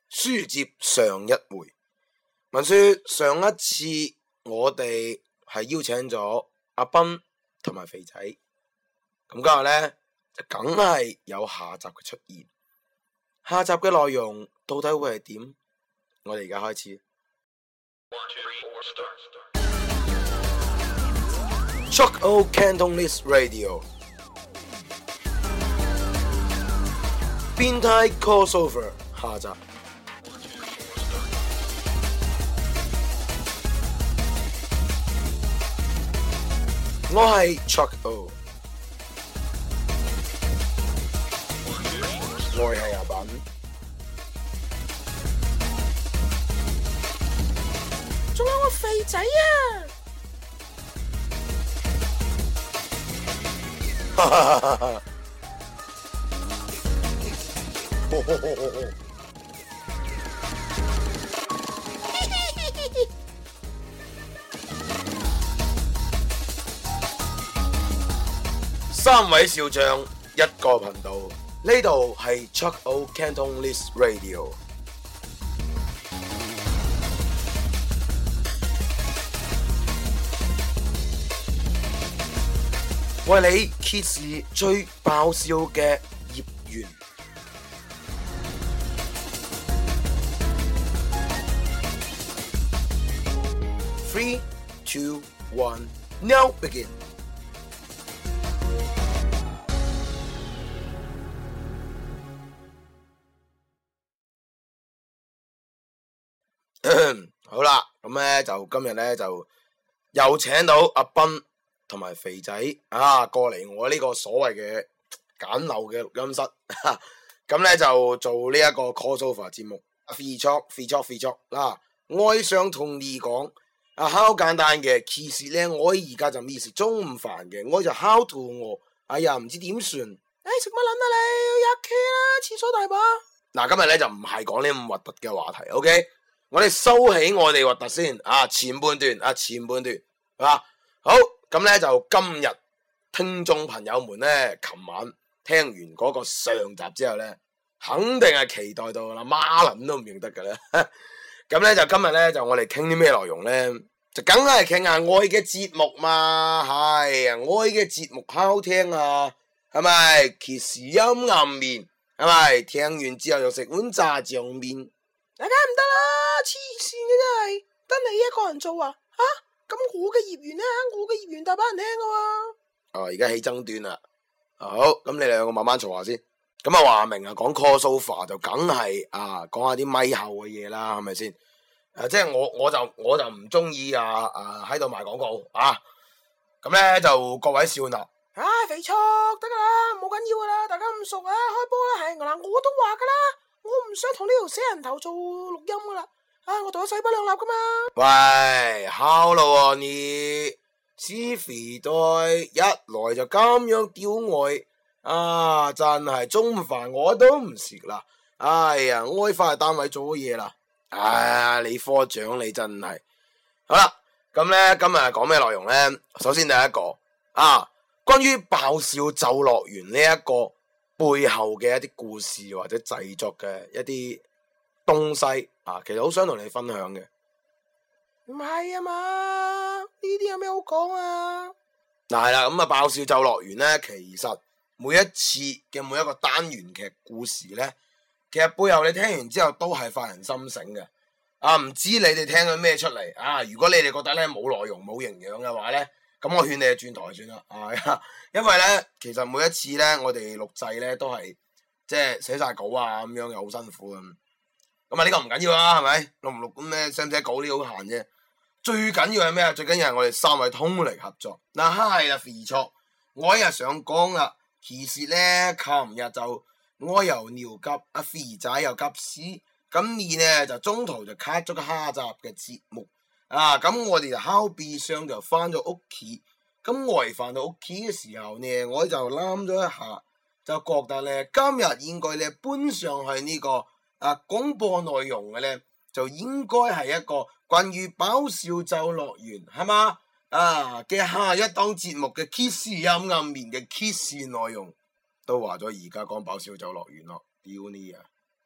書接上一回，聞說上一次我哋係邀請咗阿斌同埋肥仔，咁今日呢，就梗係有下集嘅出現。下集嘅內容到底會係點？我哋而家開始。Chuck O Cantonese Radio 變態 crossover 下集。我係 Chuck O， 我係阿斌， 仲有個肥仔啊！ 哈哈哈哈！三位少將，一個頻道，呢度係 Chuck O Cantonese Radio。為你揭示最爆笑嘅業緣。3, 2, 1, now begin。好啦，咁咧就今日咧就又請到阿斌同埋肥仔過嚟我呢個所謂嘅簡陋嘅錄音室，咁咧就做呢一個 crossover 節目。free talk 啦，我想同你講好簡單嘅，其實咧我而家就未食中午飯嘅，我就好肚餓，哎呀唔知點算。 食乜撚啊你？入企啦，廁所大把。 嗱，今日咧就唔係講呢咁核突嘅話題 ，OK？ 我哋收起我哋核突先前半段好，咁咧就今日聽眾朋友們咧，琴晚聽完嗰個上集之後咧，肯定係期待到啦，孖撚都唔認得㗎啦。咁咧就今日咧就我哋傾啲咩內容咧，就梗係傾下愛嘅節目嘛，係愛嘅節目好聽啊，係咪？其實陰暗面係咪？聽完之後又食碗炸醬麵， 大家唔得啦，黐線嘅真係，得你一個人做啊？咁我嘅業緣咧，我嘅業緣大把人聽噶喎。 而家起爭端啦。好，咁你兩個慢慢嘈下先。咁話明講 crossover 就梗係講下啲咪後嘅嘢啦，係咪先？即係我就唔中意喺度賣廣告咁咧就各位少納。 肥畜得噶啦，冇緊要噶啦，大家咁熟開波啦，係嗱，我都話噶啦，我唔想同呢條死人頭做錄音噶啦。我同佢勢不兩立噶嘛。 喂，好咯你死肥袋一來就咁樣屌我真係中午飯我都唔食啦。哎呀，我翻去單位做嘢啦。你科長你真係好啦。咁咧今日講咩內容咧？首先第一個關於爆笑咒樂園呢一個背後嘅一啲故事或者製作嘅一啲東西其實好想同你分享嘅。 唔係啊嘛，呢啲有咩好講啊？ 係啦，咁爆笑咒樂園咧，其實每一次嘅每一個單元劇故事咧，其實背後你聽完之後都係發人心醒嘅。唔知你哋聽咗咩出嚟如果你哋覺得咧冇內容冇營養嘅話咧，咁我勸你轉台算啦。因為咧其實每一次咧我哋錄製咧都係即係寫晒稿咁樣又好辛苦咁。咁呢個唔緊要啦，係咪？錄唔錄咁咩？寫唔寫稿呢好閒啫。最緊要係咩？最緊要係我哋三位通力合作。係啦，肥錯，我一日想講啦。其實咧，琴日就我又尿急，阿肥仔又急屎，咁你呢就中途就 cut 咗個下集嘅節目。咁我哋就敲鼻箱就翻咗屋企。咁我翻到屋企嘅時候呢，我就諗咗一下，就覺得咧今日應該咧搬上去呢個廣播內容嘅咧，就應該係一個關於爆笑咒樂園係嘛嘅下一檔節目嘅揭示陰暗面嘅揭示內容，都話咗而家講爆笑咒樂園咯，屌你啊！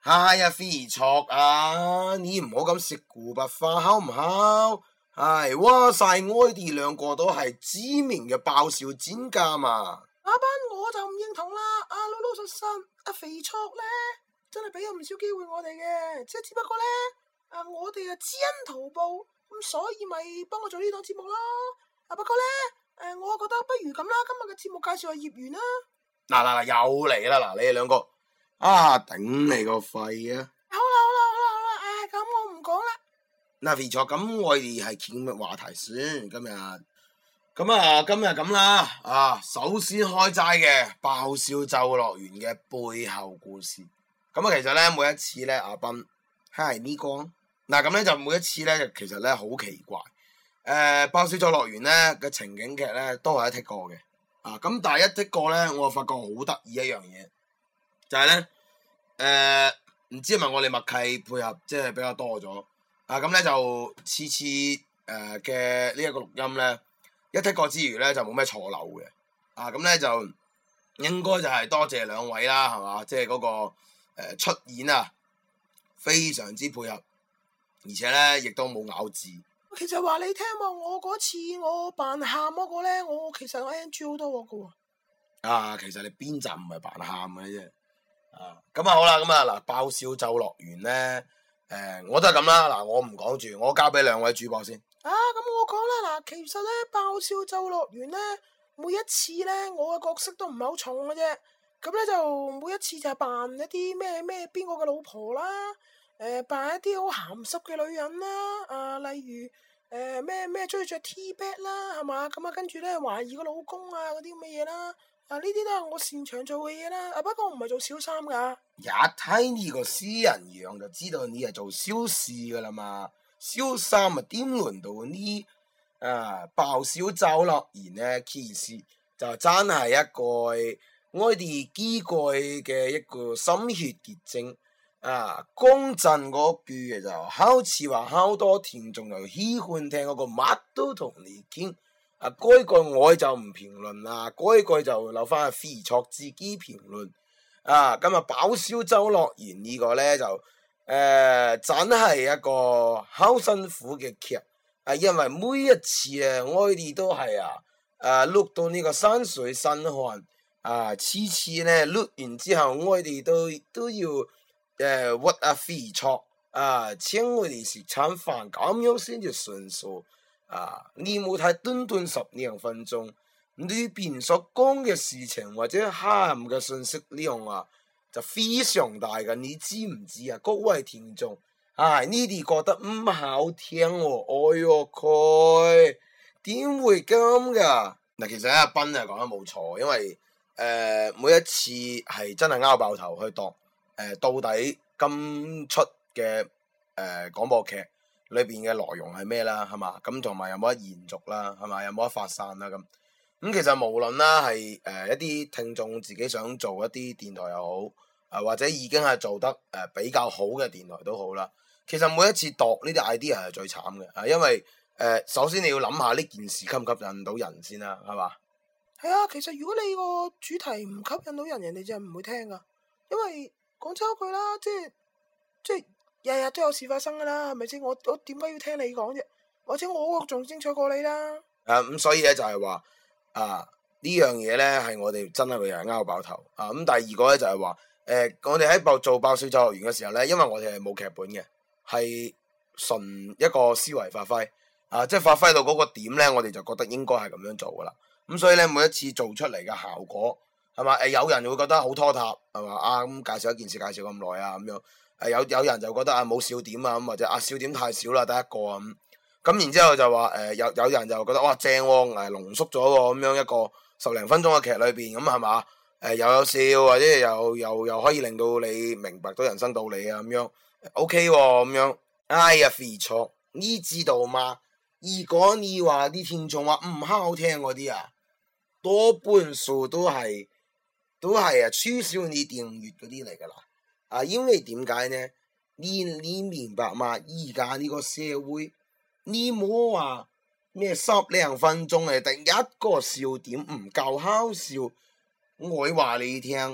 哎呀，肥卓啊，你唔好咁食古不化，好唔好？唉，話晒我哋兩個都係知名嘅爆笑專家嘛。 阿斌我就唔認同啦，老老實實，肥卓咧真係俾咗唔少機會我哋嘅，即係只不過咧，我哋知恩圖報，咁所以咪幫我做呢檔節目咯。不過咧，我覺得不如咁啦，今日嘅節目介紹係業緣啦。 嗱，又嚟啦，嗱，你哋兩個頂你個肺啊！ 好啦，咁我唔講啦。 嗱，肥卓，咁我哋係傾乜話題先？今日咁啦，首先開齋嘅爆笑咒樂園嘅背後故事。咁其實咧每一次咧，阿斌係呢個嗱，咁咧就每一次咧，其實咧好奇怪。爆笑咒樂園咧嘅情景劇咧都係一剔過嘅，咁但係一剔過咧，我發覺好得意一樣嘢，就係咧，唔知係咪我哋默契配合即係比較多咗，咁咧就次次嘅呢一個錄音咧一剔過之餘咧就冇咩錯漏嘅，咁咧就應該就係多謝兩位啦，係嘛，即係嗰個出演非常之配合，而且咧亦都冇咬字。 其實話你聽喎，我嗰次我扮喊嗰個咧，我其實我 NG 好多個喎。 其實你邊集唔係扮喊嘅啫。咁好啦，咁嗱，爆笑咒樂園咧，我都係咁啦。嗱，我唔講住，我交俾兩位主播先。 咁我講啦，嗱，其實咧爆笑咒樂園咧，每一次咧我嘅角色都唔係好重嘅啫。咁咧就每一次就係扮一啲咩邊個嘅老婆啦。扮一啲好鹹濕嘅女人啦，例如咩中意着 T-back 啦，係嘛？咁跟住咧懷疑個老公嗰啲咁嘅嘢啦，呢啲都係我擅長做嘅嘢啦。不過我唔係做小三噶。 一睇呢個私人樣就知道你係做小事噶啦嘛，小三點輪到呢？爆笑咒樂園咧，其實就真係一個我哋幾個嘅一個心血結晶。講真嗰句嘅就好似話好多聽眾又喜歡聽嗰個乜都同你傾，嗰句我就唔評論啦，嗰句就留翻阿肥卓自己評論。咁爆笑咒樂園呢個咧就真係一個好辛苦嘅劇，因為每一次我哋都係錄到呢個山水身汗，次次咧錄完之後我哋都要屈肥卓請我哋食餐飯，咁樣先至算數。你冇睇短12分鐘，裏邊所講嘅事情或者含嘅信息量就非常大嘅，你知唔知各位聽眾，呢啲覺得唔好聽喎，哎喲佢點會咁噶？嗱，其實阿斌講得冇錯，因為每一次係真係拗爆頭去度。到底今出嘅廣播劇裏邊嘅內容係咩啦？係嘛？咁同埋有冇得延續啦？係嘛？有冇得發散啦？咁其實無論啦係一啲聽眾自己想做一啲電台又好，或者已經係做得比較好嘅電台都好啦。其實每一次度呢啲 idea 係最慘嘅，因為首先你要諗下呢件事吸唔吸引到人先啦，係嘛？ 係啊，其實如果你個主題唔吸引到人，人哋就唔會聽噶，因為。講真句啦，即係日日都有事發生噶啦，係咪先？我點解要聽你講啫？或者我個仲精彩過你啦。咁所以咧就係話呢樣嘢咧係我哋真係會係拗爆頭咁。第二個咧就係話我哋喺做爆笑咒樂園嘅時候咧，因為我哋係冇劇本嘅，係純一個思維發揮即係發揮到嗰個點咧，我哋就覺得應該係咁樣做噶啦。咁所以咧每一次做出嚟嘅效果。係嘛？有人會覺得好拖沓，係嘛？咁介紹一件事介紹咁耐咁樣，有人就覺得冇笑點咁，或者笑點太少啦，得一個咁然之後就話有人就覺得哇正喎，濃縮咗喎，咁樣一個10零分鐘嘅劇裏邊咁係嘛？又有笑或者又可以令到你明白到人生道理咁樣 OK 咁樣。哎呀，肥卓，你知道嘛？如果你話啲聽眾話唔好聽嗰啲多半數都係取消你訂閱嗰啲嚟噶啦，因為點解呢？你明白嘛？而家呢個社會，你冇話咩10零分鐘第一個笑點唔夠好笑，我話你聽，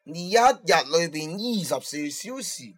你一日裏邊24小時，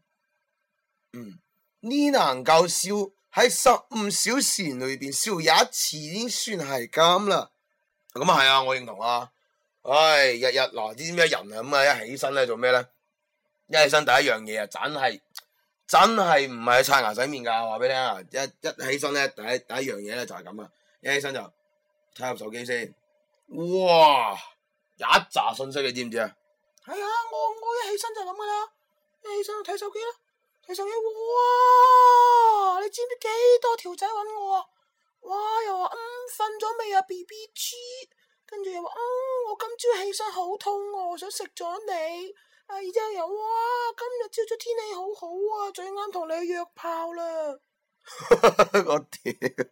你能夠笑喺15小時裏邊笑一次已經算係咁啦。咁啊係啊，我認同啊。唉，日日嗱，知咩人啊咁啊，一起身咧做咩咧？一起身第一樣嘢啊，真係唔係刷牙洗面噶，話俾你聽啊！一起身咧，第一樣嘢咧就係咁啊！一起身就睇下手機先，哇！一紮信息你知唔知啊？ 係啊，我一起身就咁噶啦，一起身就睇手機啦，睇手機，哇！你知唔知幾多條仔揾我啊？哇！又話瞓咗未啊 BBG， 跟住又話我今朝起身好肚餓，想食咗你。然之後又哇，今日朝早天氣好好啊，最啱同你去約炮啦。 我屌！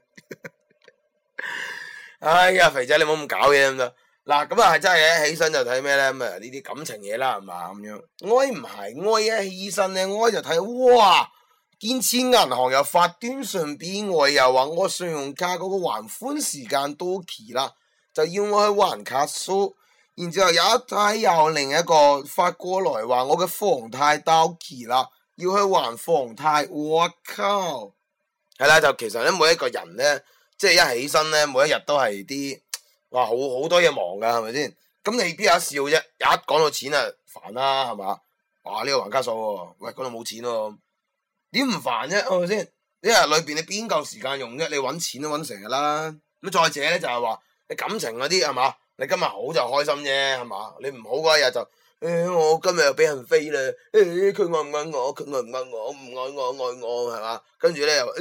哎呀，肥仔你唔好咁搞嘢咁得。嗱，咁啊係真係嘅，起身就睇咩咧？咁啊呢啲感情嘢啦，係嘛咁樣。我唔係，我一起身咧，我就睇哇，建設銀行又發短信俾我，又話我信用卡嗰個還款時間到期啦，就要我去還卡數。然之後有一睇又另一個發過來話我嘅房貸到期啦，要去還房貸。我靠！係啦，就其實咧每一個人咧，即係一起身咧，每一日都係啲哇好多嘢忙噶，係咪先？咁你邊有得笑啫？一講到錢啊，煩啦，係嘛？哇呢個還卡數喎，喂嗰度冇錢喎，點唔煩啫？係咪先？一日裏邊你邊夠時間用啫？你搵錢都搵成日啦。咁再者咧就係話你感情嗰啲係嘛？你今日好就開心啫，係嘛？你唔好嗰一日就我今日又俾人飛啦，佢愛唔愛我？佢愛唔愛我？唔愛我，愛我係嘛？跟住咧又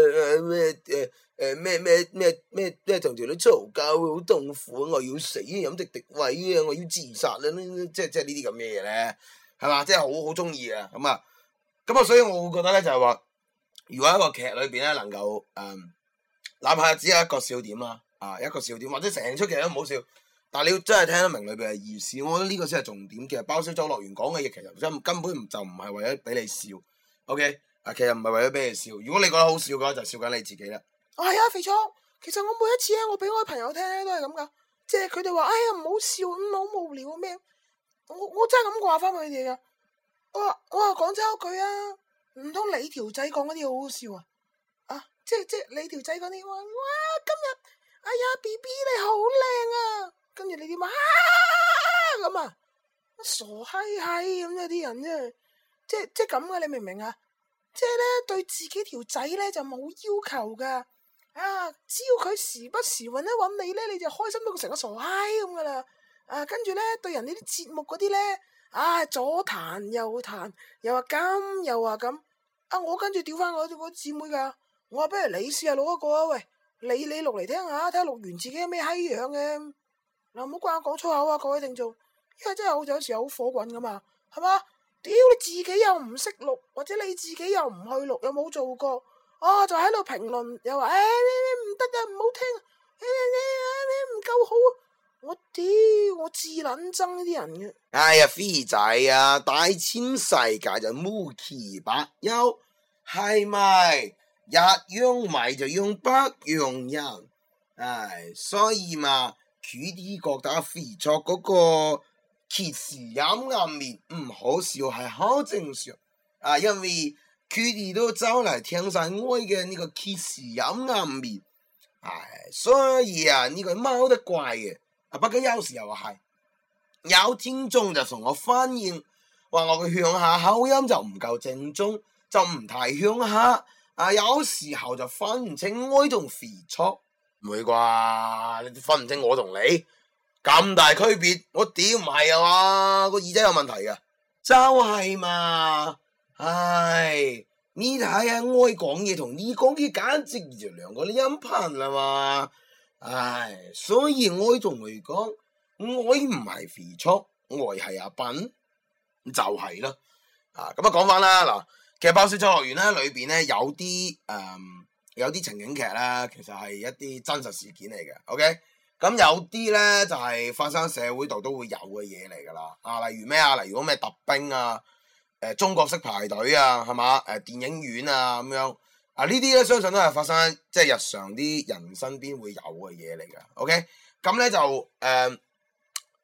咩同條女嘈交好痛苦，我要死，飲敵敵畏啊，我要自殺啦！即係呢啲咁嘅嘢咧，係嘛？即係好中意啊！咁啊，所以我會覺得咧就係話，如果一個劇裏邊咧能夠哪怕只有一個笑點啦。一個笑點或者成出劇都唔好笑，但係你要真係聽得明裏邊嘅意思，我覺得呢個先係重點。其實包銷周樂園講嘅嘢，其實根本就唔係為咗俾你笑 ，OK？其實唔係為咗俾你笑。如果你覺得好笑嘅話，就笑緊你自己啦。 係啊，肥聰，其實我每一次咧，我俾我啲朋友聽咧都係咁噶，即係佢哋話，哎呀唔好笑，好無聊咩？我真係咁話翻佢哋噶。我話講真一句啊，唔通你條仔講嗰啲好好笑啊？即係你條仔講啲話，哇今日。哎呀 BB 你好靚啊，跟住你點啊咁啊，傻閪閪咁啊啲人真係，即係咁嘅，你明唔明啊？即係咧對自己條仔咧就冇要求噶，只要佢時不時搵一搵你咧，你就開心到成個傻閪咁噶啦，跟住咧對人呢啲節目嗰啲咧，左彈右彈，又話咁又話咁，我跟住屌翻我個姊妹噶，我話不如你試下錄一個啊，喂。你錄嚟聽下，睇下錄完自己有咩閪樣嘅。嗱，唔好怪我講粗口啊，各位聽眾，因為真係有時候好火滾噶嘛，係嘛？屌你自己又唔識錄，或者你自己又唔去錄，又冇做過，就喺度評論，又話唔得啊，唔好聽，唔夠好啊！我屌，我至撚憎呢啲人嘅。 哎呀，飛仔啊，大千世界就無奇不有，係咪？一樣米就用百樣人，所以嘛，佢哋覺得肥卓嗰個揭示陰暗面唔好笑係好正常，因為佢哋都走嚟聽晒我嘅呢個揭示陰暗面，所以呢個貓得怪嘅，不過有時候係有聽眾就同我反映，話我嘅鄉下口音就唔夠正宗，就唔太鄉下。有時候就分唔清我同肥卓，唔會啩？你分唔清我同你咁大區別？我屌唔係啊嘛，個耳仔有問題㗎，就係嘛。唉，你睇下我講嘢同你講嘢簡直就兩個音頻啦嘛。唉，所以我同佢講，我唔係肥卓，我係阿笨，就係啦。咁講翻啦嗱。其實爆笑周樂園咧裏邊咧有啲情景劇咧，其實係一啲真實事件嚟嘅。OK，咁有啲咧就係發生社會度都會有嘅嘢嚟噶啦。例如咩啊？例如咩特兵啊，中國式排隊啊，係嘛？電影院啊咁樣呢啲咧相信都係發生即係日常啲人身邊會有嘅嘢嚟嘅。OK，咁咧就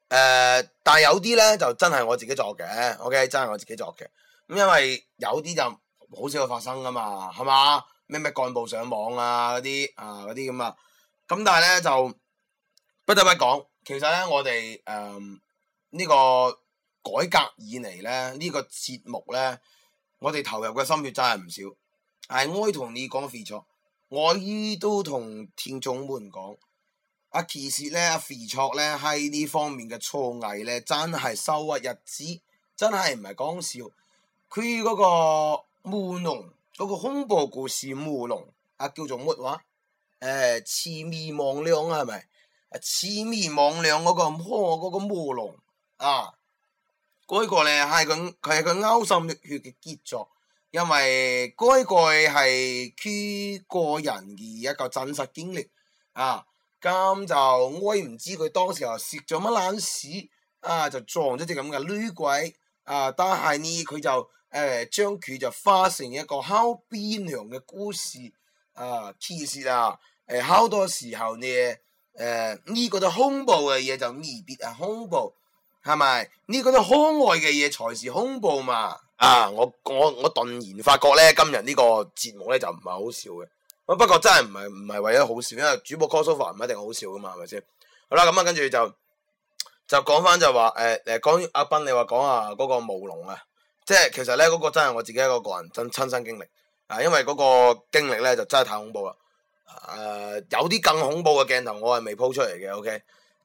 但係有啲咧就真係我自己作嘅，OK， 真係我自己作嘅。咁因為有啲就好少會發生噶嘛，係嘛？咩幹部上網啊嗰啲咁啊。咁但係咧就不得不講，其實咧我哋呢個改革以嚟咧呢個節目咧，我哋投入嘅心血真係唔少。係我同你講肥錯，我依都同聽眾們講。其實咧，阿肥卓咧喺呢方面嘅造詣咧，真係收穫日子，真係唔係講笑。佢嗰個務農嗰個恐怖故事務農叫做乜話？魑魅魍魎係咪？魑魅魍魎嗰個務農嗰個咧係佢係個勾心煥血嘅傑作，因為嗰個係佢個人嘅一個真實經歷咁就我唔知佢當時候食咗乜爛屎就撞咗隻咁嘅女鬼但係呢佢就將佢就化成一個好悲涼嘅故事其實好多時候呢呢個都恐怖嘅嘢就未必係恐怖，係咪？呢個都可愛嘅嘢才是恐怖嘛我頓然發覺咧，今日呢個節目咧就唔係好笑嘅。不過真係唔係為咗好笑，因為主播 crossover 唔一定好笑噶嘛，係咪先？好啦，咁跟住就講翻就話講阿斌，你話講嗰個務農即係其實咧嗰個真係我自己一個人親身經歷因為嗰個經歷咧就真係太恐怖啦有啲更恐怖嘅鏡頭我係未鋪出嚟嘅 ，OK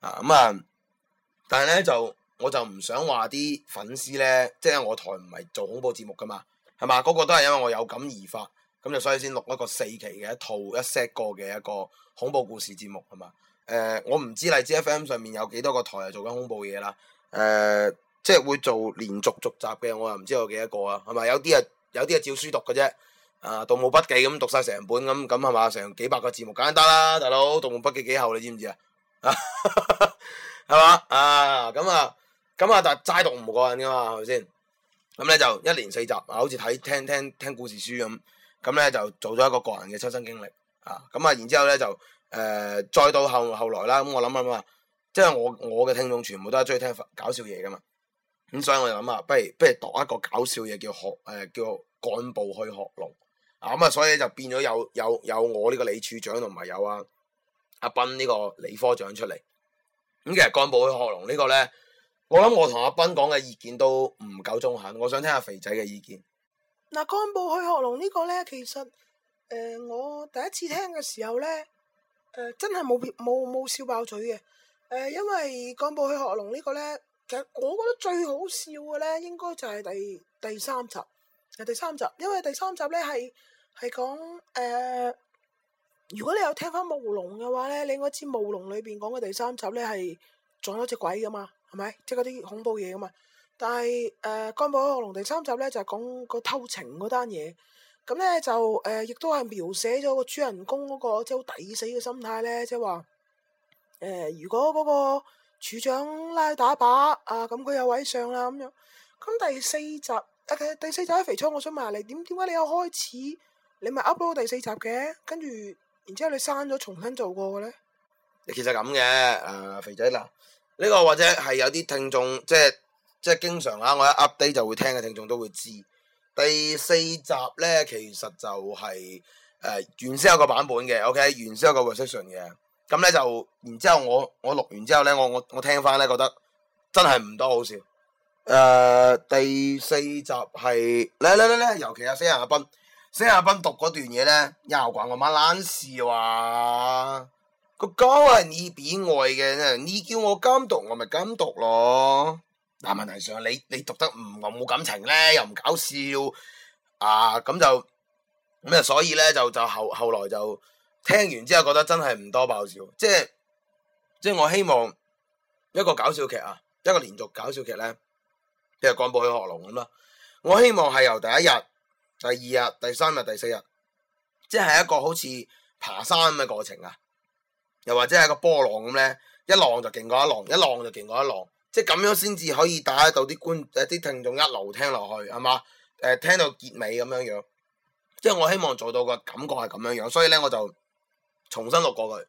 但係咧我就唔想話啲粉絲咧，即係我台唔係做恐怖節目噶嘛，係嘛？嗰個都係因為我有感而發。咁就所以先錄一個4期嘅一套一 set 個嘅一個恐怖故事節目係嘛？我唔知荔枝 FM 上面有幾多個台係做緊恐怖嘢啦。即係會做連續續集嘅，我又唔知有幾多個係咪？有啲係照書讀嘅啫。盜墓筆記咁讀晒成本咁係嘛？成幾百個字幕簡單得啦，大佬。盜墓筆記幾厚你知唔知係嘛？但係齋讀唔過癮噶嘛，係咪先？咁咧就1連4集好似聽故事書咁咧就做咗一個個人嘅親身經歷然之後咧就再到後來啦，咁我諗即係我嘅聽眾全部都係中意聽搞笑嘢噶嘛，咁所以我就諗不如讀一個搞笑嘢叫幹部去學農所以就變咗有我呢個李處長同埋有阿斌呢個理科長出嚟。咁其實幹部去學農呢個咧，我諗我同阿斌講嘅意見都唔夠中肯，我想聽下肥仔嘅意見。 嗱，幹部去學農呢個咧，其實我第一次聽嘅時候咧，真係冇笑爆嘴嘅。因為幹部去學農呢個咧，其實我覺得最好笑嘅咧，應該就係第三集。第三集，因為第三集咧係講如果你有聽翻務農嘅話咧，你應該知務農裏邊講嘅第三集咧係撞咗隻鬼噶嘛，係咪？即係嗰啲恐怖嘢噶嘛。但係幹部去學農第三集咧就係講個偷情嗰單嘢，咁咧就亦都係描寫咗個主人公嗰個即係好抵死嘅心態咧，即係話如果嗰個處長拉打靶咁佢有位上啦咁樣。咁第四集第四集喺肥倉，我想問下你點解你有開始你咪 upload 第四集嘅，跟住然之後你刪咗重新做過嘅咧？ 其實咁嘅肥仔嗱，呢個或者係有啲聽眾即係經常我一 update 就會聽嘅聽眾都會知。第四集咧其實就係原先有個版本嘅 ，OK， 原先有個 version 嘅。咁咧就然之後我錄完之後咧，我聽翻咧覺得真係唔多好笑。第四集係咧，尤其死人阿斌讀嗰段嘢咧，又關我媽爛事話個稿係你俾我嘅，你叫我監讀我咪監讀咯。但問題上你讀得冇感情咧，又唔搞笑咁就所以咧就後來就聽完之後覺得真係唔多爆笑，即係我希望一個搞笑劇一個連續搞笑劇咧，即係幹部去學農咁啦。我希望係由第一日、第二日、第三日、第四日，即係一個好似爬山咁嘅過程又或者係個波浪咁咧，一浪就勁過一浪，一浪就勁過一浪。即係咁樣先至可以帶到啲聽眾一路聽落去，係嘛？聽到結尾咁樣，即係我希望做到個感覺係咁樣，所以咧我就重新錄過佢。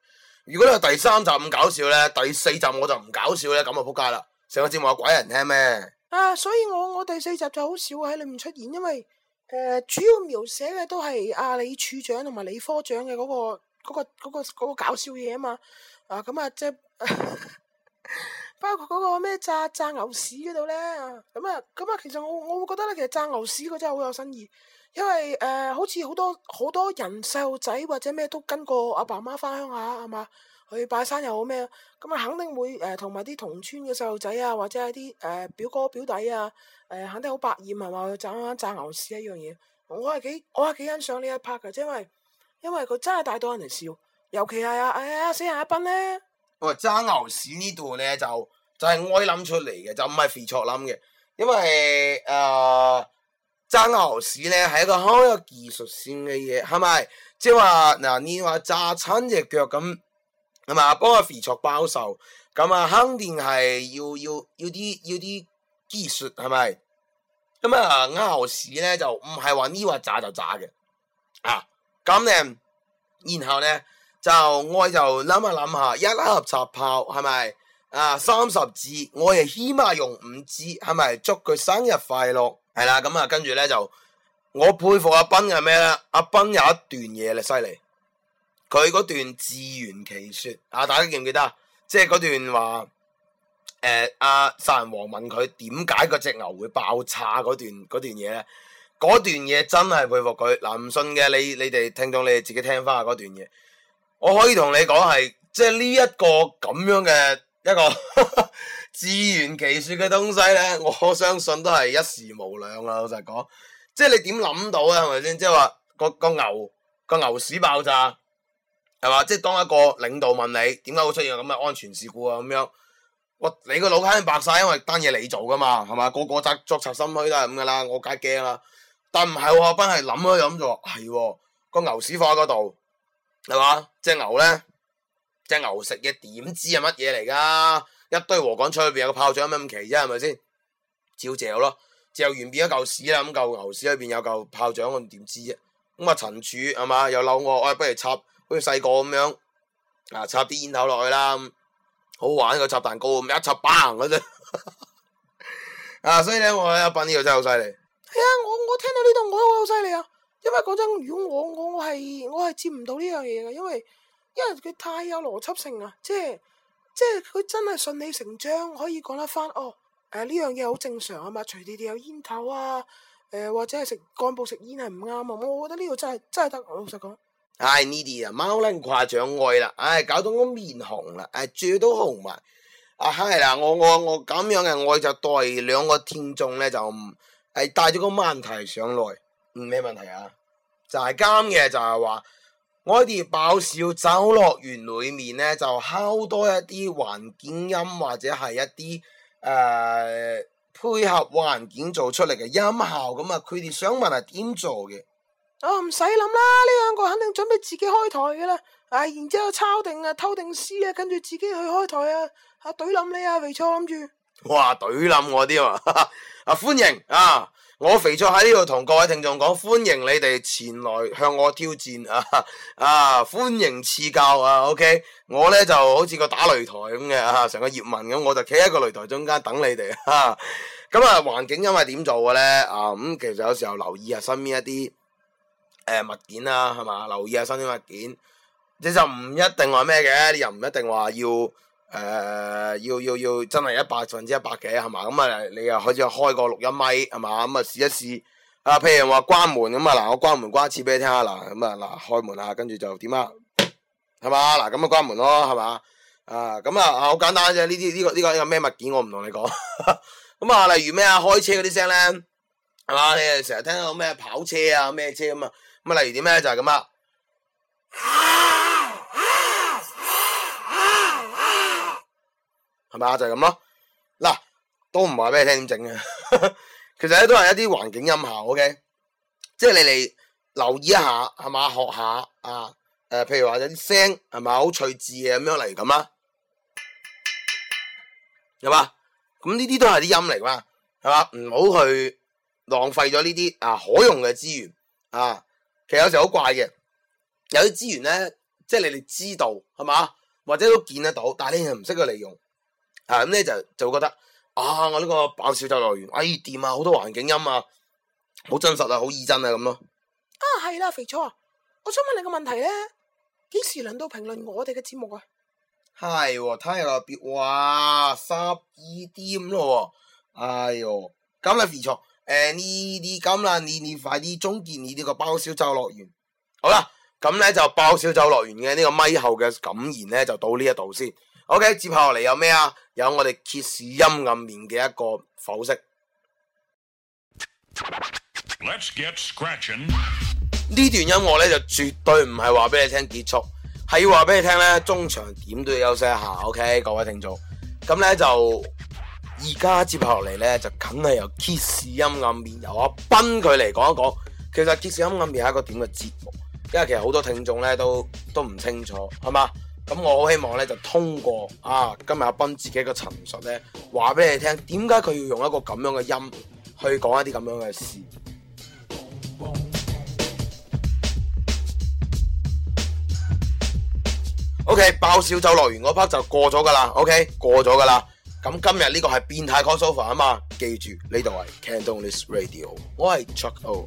如果你話第3集咁搞笑咧，第4集我就唔搞笑咧，咁就仆街啦！成個節目有鬼人聽咩？ 啊，所以我第4集就好少喺裏面出現，因為主要描寫嘅都係李處長同埋李科長嘅嗰個搞笑嘢啊嘛。咁啊即係包括嗰個咩炸牛屎嗰度咧，咁啊其實我會覺得咧，其實炸牛屎嗰真係好有新意，因為好似好多人細路仔或者咩都跟過阿爸媽翻鄉下係嘛，去拜山又好咩，咁啊肯定會同埋啲同村嘅細路仔啊，或者係啲表哥表弟啊，肯定好百厭係嘛，去炸牛屎一樣嘢，我係幾欣賞呢一 part 嘅，因為佢真係帶到人哋笑，尤其係死人阿斌咧。 喂，炸牛屎呢度咧就係我諗出嚟嘅，就唔係肥卓諗嘅，因為炸牛屎咧係一個好有技術性嘅嘢，係咪？即係話嗱，你話炸親隻腳咁，係嘛？幫個肥卓包售，咁啊肯定係要啲技術，係咪？咁啊牛屎咧就唔係話呢話炸就炸嘅，咁咧，然後咧。我就諗下，一盒插炮係咪30支，我係起碼用5支，係咪？祝佢生日快樂，係啦。咁啊，跟住咧就我佩服阿斌係咩咧？阿斌有一段嘢咧犀利，佢嗰段自圓其說大家記唔記得啊？即係嗰段話阿殺人王問佢點解嗰隻牛會爆炸嗰段嘢咧？嗰段嘢真係佩服佢嗱，唔信嘅你哋聽眾你哋自己聽翻下嗰段嘢。我可以同你講係，即係呢一個咁樣嘅一個自圓其說嘅東西咧，我相信都係一時無兩啊！老實講，即係你點諗到啊？係咪先？即係話個牛屎爆炸，係嘛？即係當一個領導問你點解會出現咁嘅安全事故啊？咁樣，你個腦肯定白晒，因為單嘢你做噶嘛，係嘛？個作賊心虛都係咁噶啦，我梗係驚啦。但唔係喎，阿斌係諗咗諗就話係個牛屎放喺嗰度。係嘛？隻牛食嘢點知係乜嘢嚟噶？一堆禾稈菜裏邊有個炮仗，有咩咁奇啫？係咪先？照嚼咯，嚼完變咗嚿屎啦。咁嚿牛屎裏邊有嚿炮仗，我點知啫？咁啊陳柱係嘛？又嬲我，不如插好似細個咁樣插啲煙頭落去啦，好玩個插蛋糕咁一插砰嗰陣所以咧我阿斌呢個真係好犀利。 係啊，我聽到呢度我都好犀利啊！因為講真，如果我係接唔到呢樣嘢嘅，因為佢太有邏輯性啦，即係佢真係順理成章可以講得翻呢樣嘢好正常啊嘛，隨地有煙頭啊，或者係幹部食煙係唔啱啊，我覺得呢個真係得，老實講。 呢啲啊貓撚誇獎愛啦，搞到我面紅啦，嘴都紅埋。係啦，我咁樣嘅愛就代兩個聽眾咧就帶咗個問題上來。咩問題啊？就係啱嘅，就係話我哋爆笑酒樂園裏面咧，就敲多一啲環境音或者係一啲配合環境做出嚟嘅音效，咁啊，佢哋想問係點做嘅？ 唔使諗啦，呢兩個肯定準備自己開台嘅啦，然之後抄定偷定師跟住自己去開台懟冧你肥錯諗住。 哇，懟冧我啲啊！歡迎我肥錯喺呢度同各位聽眾講，歡迎你哋前來向我挑戰歡迎賜教OK， 我咧就好似個打擂台咁嘅成個葉問咁，我就企喺個擂台中間等你哋咁環境因為點做嘅咧咁其實有時候留意下身邊一啲物件啦，係嘛，留意下身邊物件，你就唔一定話咩嘅，你又唔一定話要真係100%嘅係嘛，咁你又可以開個錄音咪係嘛，咁試一試譬如話關門咁嗱，我關門關一次俾你聽下嗱，咁開門跟住就點係嘛，嗱咁關門咯係嘛，咁好簡單啫，呢個咩物件我唔同你講咁例如咩開車嗰啲聲咧係嘛，你成日聽到咩跑車咩車咁例如點咧就係咁係嘛，就係咁咯。嗱，都唔話俾你聽點整嘅，其實咧都係一啲環境音效 ，OK， 即係你哋留意一下係嘛，學下譬如話有啲聲係嘛好趣致嘅咁樣嚟咁啦，係嘛，咁呢啲都係啲音嚟嘛，係嘛，唔好去浪費咗呢啲可用嘅資源其實有時好怪嘅，有啲資源咧，即係你哋知道係嘛。 或者都見得到，但係你又唔識去利用，咁咧就會覺得我呢個爆笑就樂園，掂啊，好多環境音啊，好真實啊，好擬真啊咁咯。 係啦，肥初啊，我想問你個問題咧，幾時輪到評論我哋嘅節目啊？ 係喎，睇下個表，哇，12點咯喎，哎呦，咁啦肥初，你咁啦，你快啲終結你呢個爆笑就樂園。好啦，咁咧就爆笑就樂園嘅呢個咪後嘅感言咧就到呢一度先。OK， 接下嚟有咩啊？有我哋揭示陰暗面嘅一個剖析。 Let's get scratching。 呢段音樂咧就絕對唔係話俾你聽結束，係要話俾你聽咧中場點都要休息一下。OK， 各位聽眾，咁咧就而家接下落嚟咧就梗係由揭示陰暗面由阿斌佢嚟講一講。其實揭示陰暗面係一個點嘅節目，因為其實好多聽眾咧都唔清楚，係嘛？咁我好希望咧就通過今日阿斌自己嘅陳述咧，話俾你聽點解佢要用一個咁樣嘅音去講一啲咁樣嘅事。OK， 爆笑就樂園嗰 part 就過咗噶啦 ，OK 過咗噶啦。咁今日呢個係變態 crossover 啊嘛，記住呢度係 Cantonese Radio， 我係 Chuck O。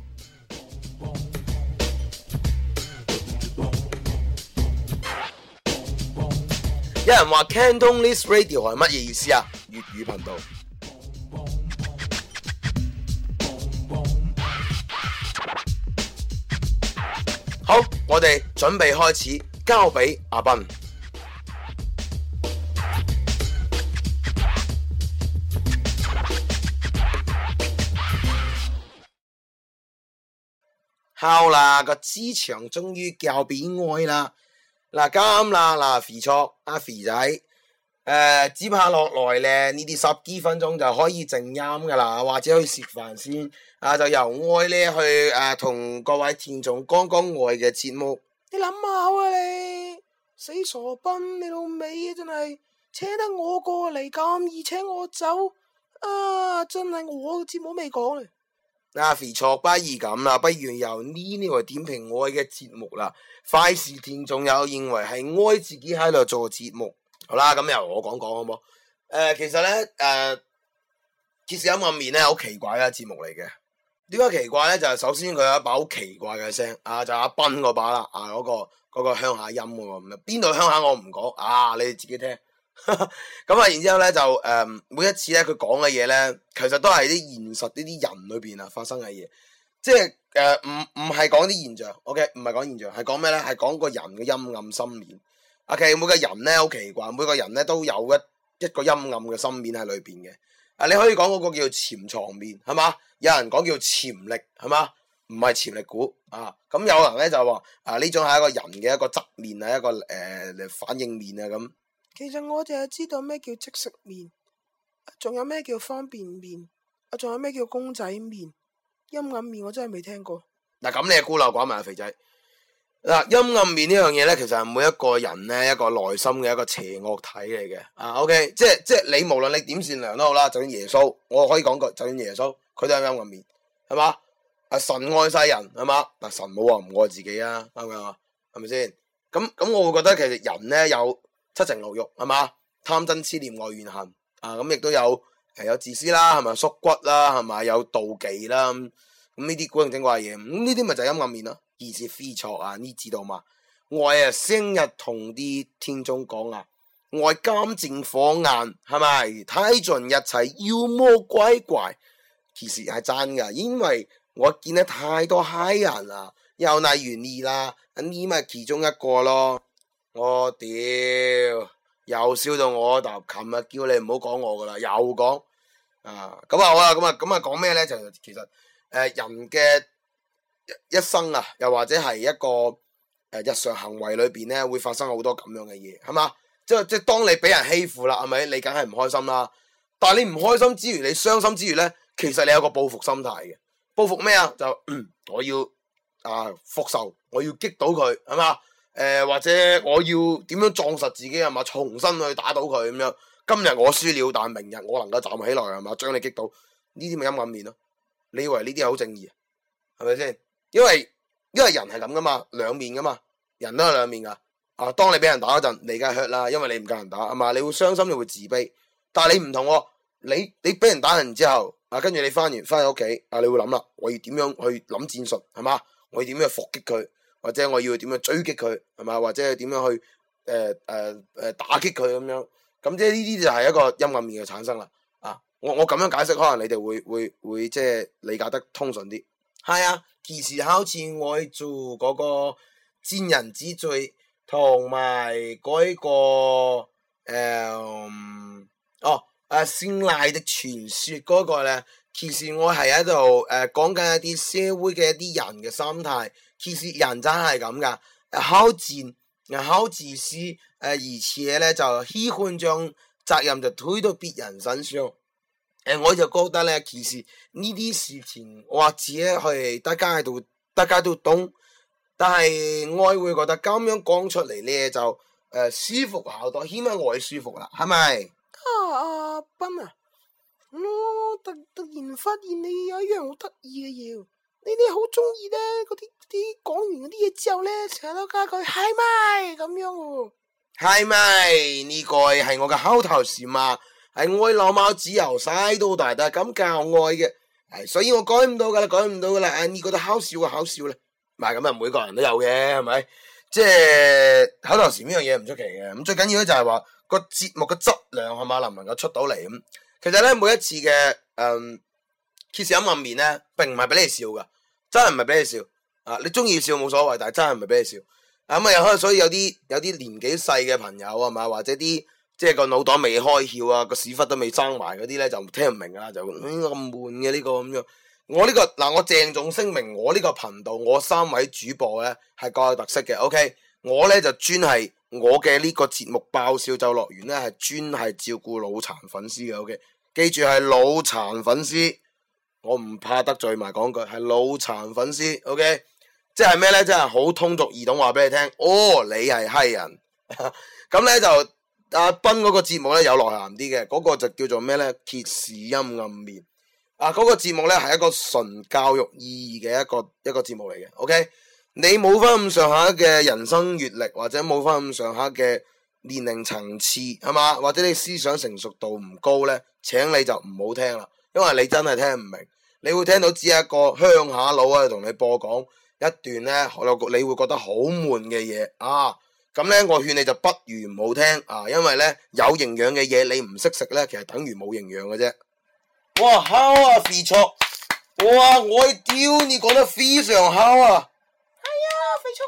有人話 Cantonese Radio 係乜嘢意思啊？粵語頻道。好，我哋準備開始，交俾阿斌。好啦，個職場終於交俾我啦。嗱咁啦，肥錯阿肥仔，接下落來咧呢啲10幾分鐘就可以靜音噶啦，或者去食飯先。就由我咧去同各位聽眾講講我嘅節目。 你諗下你死傻斌，你老味真係請得我過嚟咁易請我走真係我嘅節目未講咧。 肥錯不如咁啦，不如由呢個點評我嘅節目啦。費事聽眾又認為係我自己喺度做節目。好啦，咁由我講講好冇？其實咧揭示陰暗面咧好奇怪嘅節目嚟嘅。點解奇怪咧？就係首先佢有一把好奇怪嘅聲，就阿斌嗰把啦，嗰個鄉下音喎，邊度鄉下我唔講，你哋自己聽。咁然之後咧就每一次咧佢講嘅嘢咧，其實都係啲現實呢啲人裏邊發生嘅嘢，即係唔係講啲現象 ，OK， 唔係講現象，係講咩咧？係講個人嘅陰暗心面。OK， 每個人咧好奇怪，每個人咧都有一個陰暗嘅心面喺裏邊嘅。你可以講嗰個叫潛藏面，係嘛？有人講叫潛力，係嘛？唔係潛力股咁有人咧就話呢種係一個人嘅一個側面一個反應面咁。 其實我淨係知道咩叫即食麵，仲有咩叫方便麵，仲有咩叫公仔麵，陰暗面我真係未聽過。 咁你係孤陋寡聞啊，肥仔。陰暗面呢樣嘢咧，其實係每一個人咧一個內心嘅一個邪惡體嚟嘅。OK，即係你無論你點善良都好啦，就算耶穌，我可以講句，就算耶穌，佢都有陰暗面，係嘛？神愛世人，係嘛？但神冇話唔愛自己啊，啱唔啱啊？係咪先？咁我會覺得其實人咧有七情六欲，係嘛？貪嗔痴念愛怨恨咁亦都有自私啦，係咪？縮骨啦，係咪？有妒忌啦，咁呢啲古靈精怪嘢，咁呢啲咪就係陰暗面咯。而是非錯你知道嘛？我成日同啲聽眾講我金睛火眼，係咪睇盡一切妖魔鬼怪？其實係真噶，因為我見得太多閪人啦，又例如你啦，你咪其中一個咯。我屌，又燒到我頭，琴日叫你唔好講我噶啦，又講咁好啦，咁講咩咧？就其實人嘅一生又或者係一個日常行為裏邊咧，會發生好多咁樣嘅嘢，係嘛？即係當你俾人欺負啦，係咪？你梗係唔開心啦。但係你唔開心之餘，你傷心之餘咧，其實你有個報復心態嘅。報復咩啊？就我要復仇，我要擊倒佢，係嘛？或者我要點樣壯實自己，係嘛？重新去打倒佢咁樣。今日我輸了，但明日我能夠站起來，係嘛？將你擊倒，呢啲咪陰暗面咯？你以為呢啲係好正義啊？係咪先？因為人係咁噶嘛，兩面噶嘛，人都係兩面噶。 啊，當你俾人打嗰陣，你梗係 hurt 啦，因為你唔夠人打，係嘛？你會傷心，你會自卑。但係你唔同喎，你俾人打完之後，啊，跟住你翻屋企，啊，你會諗啦，我要點樣去諗戰術，係嘛？我要點樣去伏擊佢，或者我要點樣追擊佢，係嘛？或者係點樣去打擊佢咁樣。咁即係呢啲就係一個陰暗面嘅產生啦。啊，我咁樣解釋，可能你哋會即係理解得通順啲。係啊，其實好似我做嗰個賤人之罪。同埋嗰個先賴的傳說嗰個咧，其實我係喺度講緊一啲社會嘅一啲人嘅心態。其實人真係咁噶，好賤，好自私，而且咧就喜歡將責任就推到別人身上。我就覺得咧，其實呢啲事情或者係大家都懂。但係我會覺得咁樣講出嚟咧就舒服好多，起碼我係舒服啦，係咪？ 阿斌啊，我突然發現你有一樣好得意嘅嘢，你好中意咧嗰啲講完嗰啲嘢之後咧，成日都加句係咪咁樣喎？ 係咪呢個係我嘅口頭禪嘛？係我老貓子由細到大都係咁教我嘅，係所以我改唔到噶啦。你覺得好笑啊，好笑啦。唔係咁啊，每個人都有嘅，係咪？即係口頭禪呢樣嘢唔出奇嘅。咁最緊要咧就係話個節目嘅質量係嘛，能唔能夠出到嚟咁。其實咧每一次嘅揭示陰暗面咧，並唔係俾你笑噶，真係唔係俾你笑啊！你中意笑冇所謂，但係真係唔係俾你笑。咁啊又可能所以有啲年紀細嘅朋友係嘛，或者啲即係個腦袋未開竅啊，個屎忽都未生埋嗰啲咧就聽唔明啊，就咁悶嘅呢個咁樣。我鄭重聲明，我呢個頻道我3位主播咧係各有特色嘅 ，OK？ 我咧就專係我嘅呢個節目爆笑就樂園咧係專係照顧腦殘粉絲嘅 ，OK？ 記住係腦殘粉絲，我唔怕得罪埋講句係腦殘粉絲 ，OK？ 即係咩咧？即係好通俗易懂話俾你聽，哦，你係閪人，咁咧就阿斌嗰個節目咧有內涵啲嘅，嗰個就叫做咩咧？揭示陰暗面。嗰個節目咧係一個純教育意義嘅一個節目嚟嘅 ，OK？ 你冇翻咁上下嘅人生閱歷，或者冇翻咁上下嘅年齡層次，係嘛？或者你思想成熟度唔高咧，請你就唔好聽啦，因為你真係聽唔明，你會聽到只係一個鄉下佬啊同你播講一段咧，你會覺得好悶嘅嘢啊！咁咧，我勸你就不如唔好聽啊，因為咧有營養嘅嘢你唔識食咧，其實等於冇營養嘅啫。哇，好啊，肥卓！哇，我屌，你講得非常好啊！ 係啊，肥卓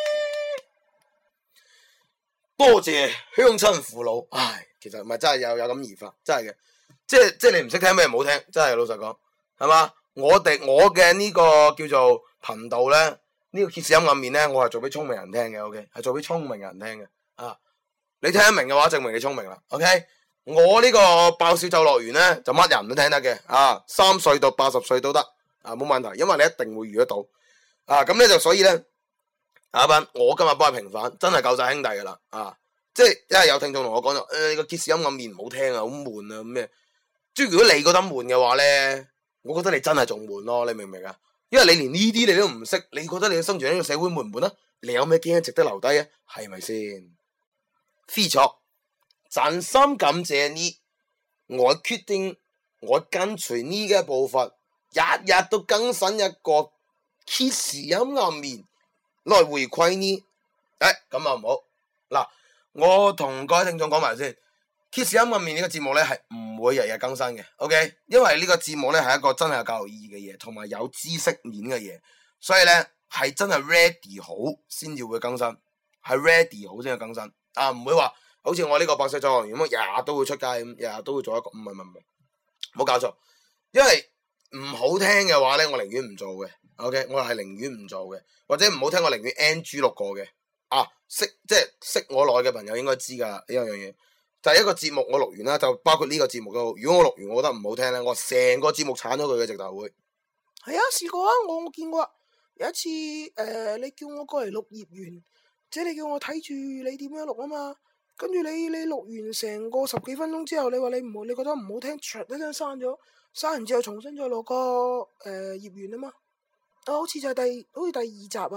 好嘢！多謝鄉親父老。唉，其實唔係真係有咁而發，真係嘅。即係你唔識聽咩唔好聽，真係老實講，係嘛？我嘅呢個叫做頻道咧，呢個揭示陰暗面咧，我係做俾聰明人聽嘅 ，OK？ 係做俾聰明人聽嘅。啊，你聽得明嘅話，證明你聰明啦 ，OK？我呢個爆笑就樂園咧，就乜人都聽得嘅，3歲到80歲都得，冇問題，因為你一定會遇得到，咁咧就所以咧，阿斌，我今日幫你平反，真係夠晒兄弟噶啦，即係因為有聽眾同我講咗，你個揭示陰暗面唔好聽啊，好悶啊，咩？即係如果你覺得悶嘅話咧，我覺得你真係仲悶咯，你明唔明啊？因為你連呢啲你都唔識，你覺得你嘅生存喺呢個社會悶唔悶啊？你有咩經驗值得留低啊？係咪先？非錯。真心感謝你，我決定我跟隨你嘅步伐，日日都更新一個揭示陰暗面來回饋你。咁啊唔好嗱，我同各位聽眾講埋先，揭示陰暗面呢個節目咧係唔會日日更新嘅 ，OK？ 因為呢個節目咧係一個真係有教育意義嘅嘢，同埋有知識面嘅嘢，所以咧係真係 ready 好先至會更新，係 ready 好先去更新，唔會話。好似我呢個爆笑就樂園咁，日日都會出街咁，日日都會做一個，唔係，唔好搞錯。因為唔好聽嘅話咧，我寧願唔做嘅。OK， 我係寧願唔做嘅，或者唔好聽，我寧願 NG 錄過嘅。識我耐嘅朋友應該知噶呢樣嘢，就係一個節目我錄完啦，就包括呢個節目都好。如果我錄完我覺得唔好聽咧，我成個節目鏟咗佢嘅直頭會。 係啊，試過啊，我見過。有一次你叫我過嚟錄業員，即係你叫我睇住你點樣錄啊嘛。跟住你錄完成個10幾分鐘之後，你話你覺得唔好聽，唰一聲刪咗，刪完之後重新再錄個業員啊嘛，好似就係第2集啊，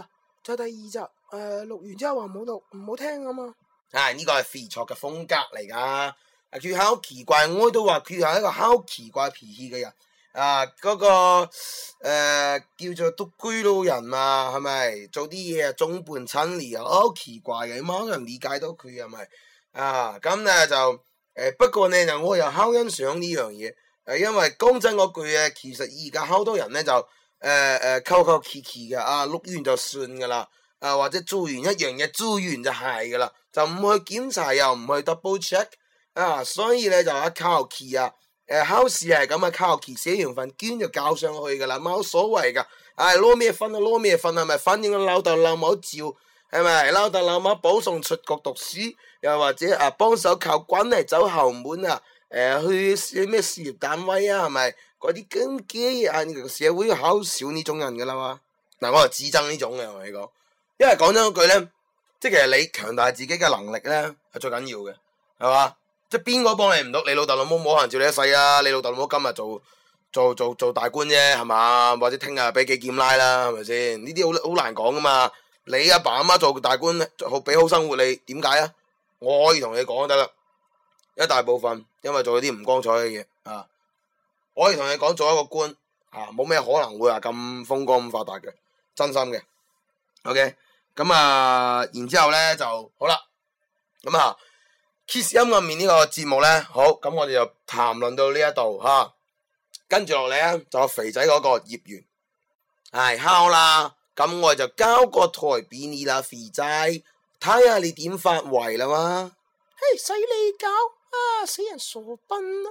就第二集錄完之後話唔好錄唔好聽啊嘛。 呢個係肥卓嘅風格嚟噶。佢係好奇怪，我都話佢係一個好奇怪脾氣嘅人。嗰個叫做獨居老人嘛，係咪做啲嘢眾叛親離啊？好奇怪嘅，冇人理解到佢係咪咁咧就不過呢，就我又好欣賞呢樣嘢。因為講真嗰句其實而家好多人咧就求求其其嘅錄完就算噶啦，或者做完一樣嘢做完就係噶啦，就唔去檢查又唔去 double check 所以咧就求其考試係咁求其寫完份卷就交上去噶啦，冇所謂噶。攞咩分攞咩分係咪？反正老豆老母照係咪？老豆老母保送出國讀書，又或者幫手靠軍嚟走後門去咩事業單位係咪？嗰啲咁嘅嘢社會好少呢種人噶啦嘛。我係自憎呢種嘅，我同你講，因為講真嗰句咧，即係其實你強大自己嘅能力咧係最緊要嘅，係嘛？即係邊個幫你唔到？你老豆老母冇可能照你一世啊！你老豆老母今日做大官啫，係嘛？或者聽日俾幾劍拉啦，係咪先？呢啲好難講噶嘛。你阿爸阿媽做大官，俾好生活你，點解啊？我可以同你講得啦，一大部分因為做咗啲唔光彩嘅嘢我可以同你講，做一個官冇咩可能會話咁風光咁發達嘅，真心嘅。OK， 咁然之後咧就好啦。咁Kiss 音樂面呢個節目咧，好，咁我哋就談論到呢一度跟住落嚟咧就有肥仔嗰個業緣，敲啦，咁我就交個台俾你啦，肥仔，睇下你點發圍啦嘛。 嘿，使你搞死人傻笨啊！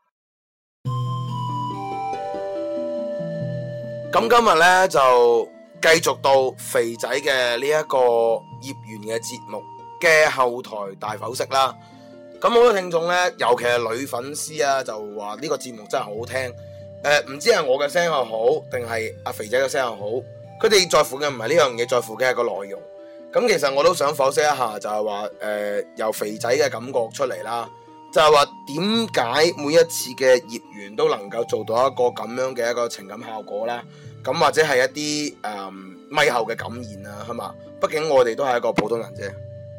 咁今日咧就繼續到肥仔嘅呢一個業緣嘅節目嘅後台大剖析啦。咁好多聽眾咧，尤其係女粉絲就話呢個節目真係好好聽。唔知係我嘅聲又好，定係阿肥仔嘅聲又好，佢哋在乎嘅唔係呢樣嘢，在乎嘅係個內容。咁其實我都想剖析一下，就係話由肥仔嘅感覺出嚟啦，就係話點解每一次嘅業緣都能夠做到一個咁樣嘅一個情感效果啦。咁或者係一啲咪後嘅感言係嘛？畢竟我哋都係一個普通人啫。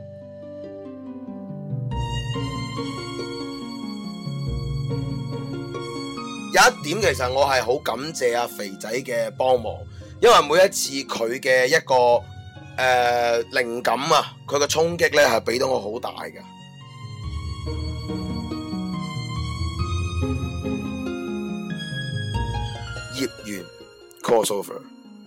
有一點其實我係好感謝阿肥仔嘅幫忙，因為每一次佢嘅一個靈感佢嘅衝擊咧係俾到我好大嘅。業緣 crossover。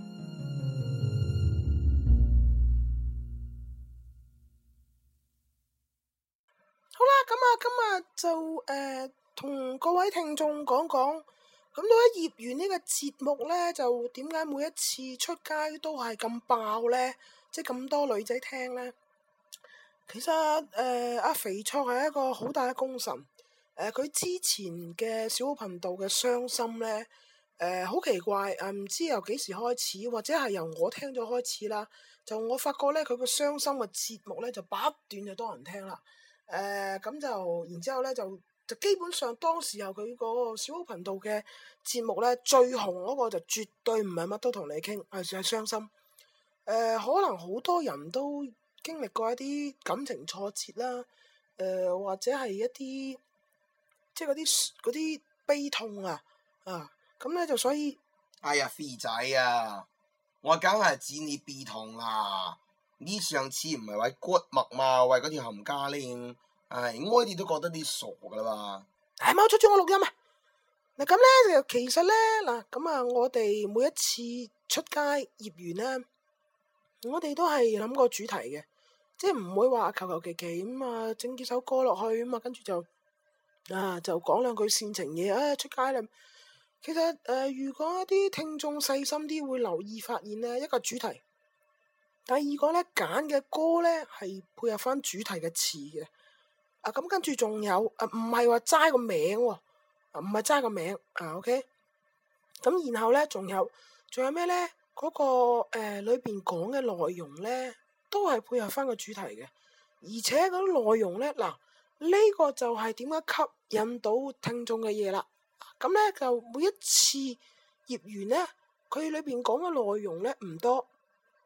好啦，咁今日就同各位聽眾講講，咁到底業緣呢個節目呢，就點解每一次出街都係咁爆呢？即係咁多女仔聽呢？其實阿肥卓係一個好大嘅功臣。佢之前嘅小頻道嘅傷心呢，好奇怪唔知由幾時開始，或者係由我聽咗開始啦。就我發覺呢，佢個傷心嘅節目呢，就不斷就多人聽啦。咁就然之後呢就基本上當時候佢個小頻道嘅節目呢，最紅嗰個就絕對唔係乜都同你傾，係傷心。可能好多人都經歷過一啲感情挫折啦，或者係一啲即係嗰啲悲痛咁呢就所以， 哎呀，肥仔我梗係指你悲痛啦。你上次唔係為骨脈嘛，為嗰條冚家拎，我哋都覺得你傻噶啦嘛。 冇出咗我錄音啊！嗱咁咧就其實咧我哋每一次出街業緣咧，我哋都係諗過主題嘅，即係唔會話求求其其咁整幾首歌落去跟住就講兩句煽情嘢出街啦。其實如果啲聽眾細心啲會留意發現咧，一個主題，第二個咧揀嘅歌咧係配合翻主題嘅詞嘅。咁跟住仲有唔係話齋個名喎，唔係齋個名OK。咁然後咧仲有咩咧？嗰個裏邊講嘅內容咧都係配合翻個主題嘅，而且嗰啲內容咧呢個就係點解吸引到聽眾嘅嘢啦。咁咧就每一次業緣咧，佢裏邊講嘅內容咧唔多，